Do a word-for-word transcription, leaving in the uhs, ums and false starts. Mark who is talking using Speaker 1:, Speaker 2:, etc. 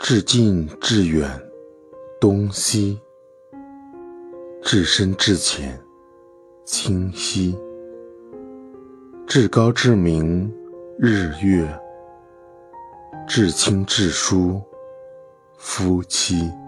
Speaker 1: 至近至远，东西；至深至浅，清晰；至高至明，日月；至亲至疏，夫妻。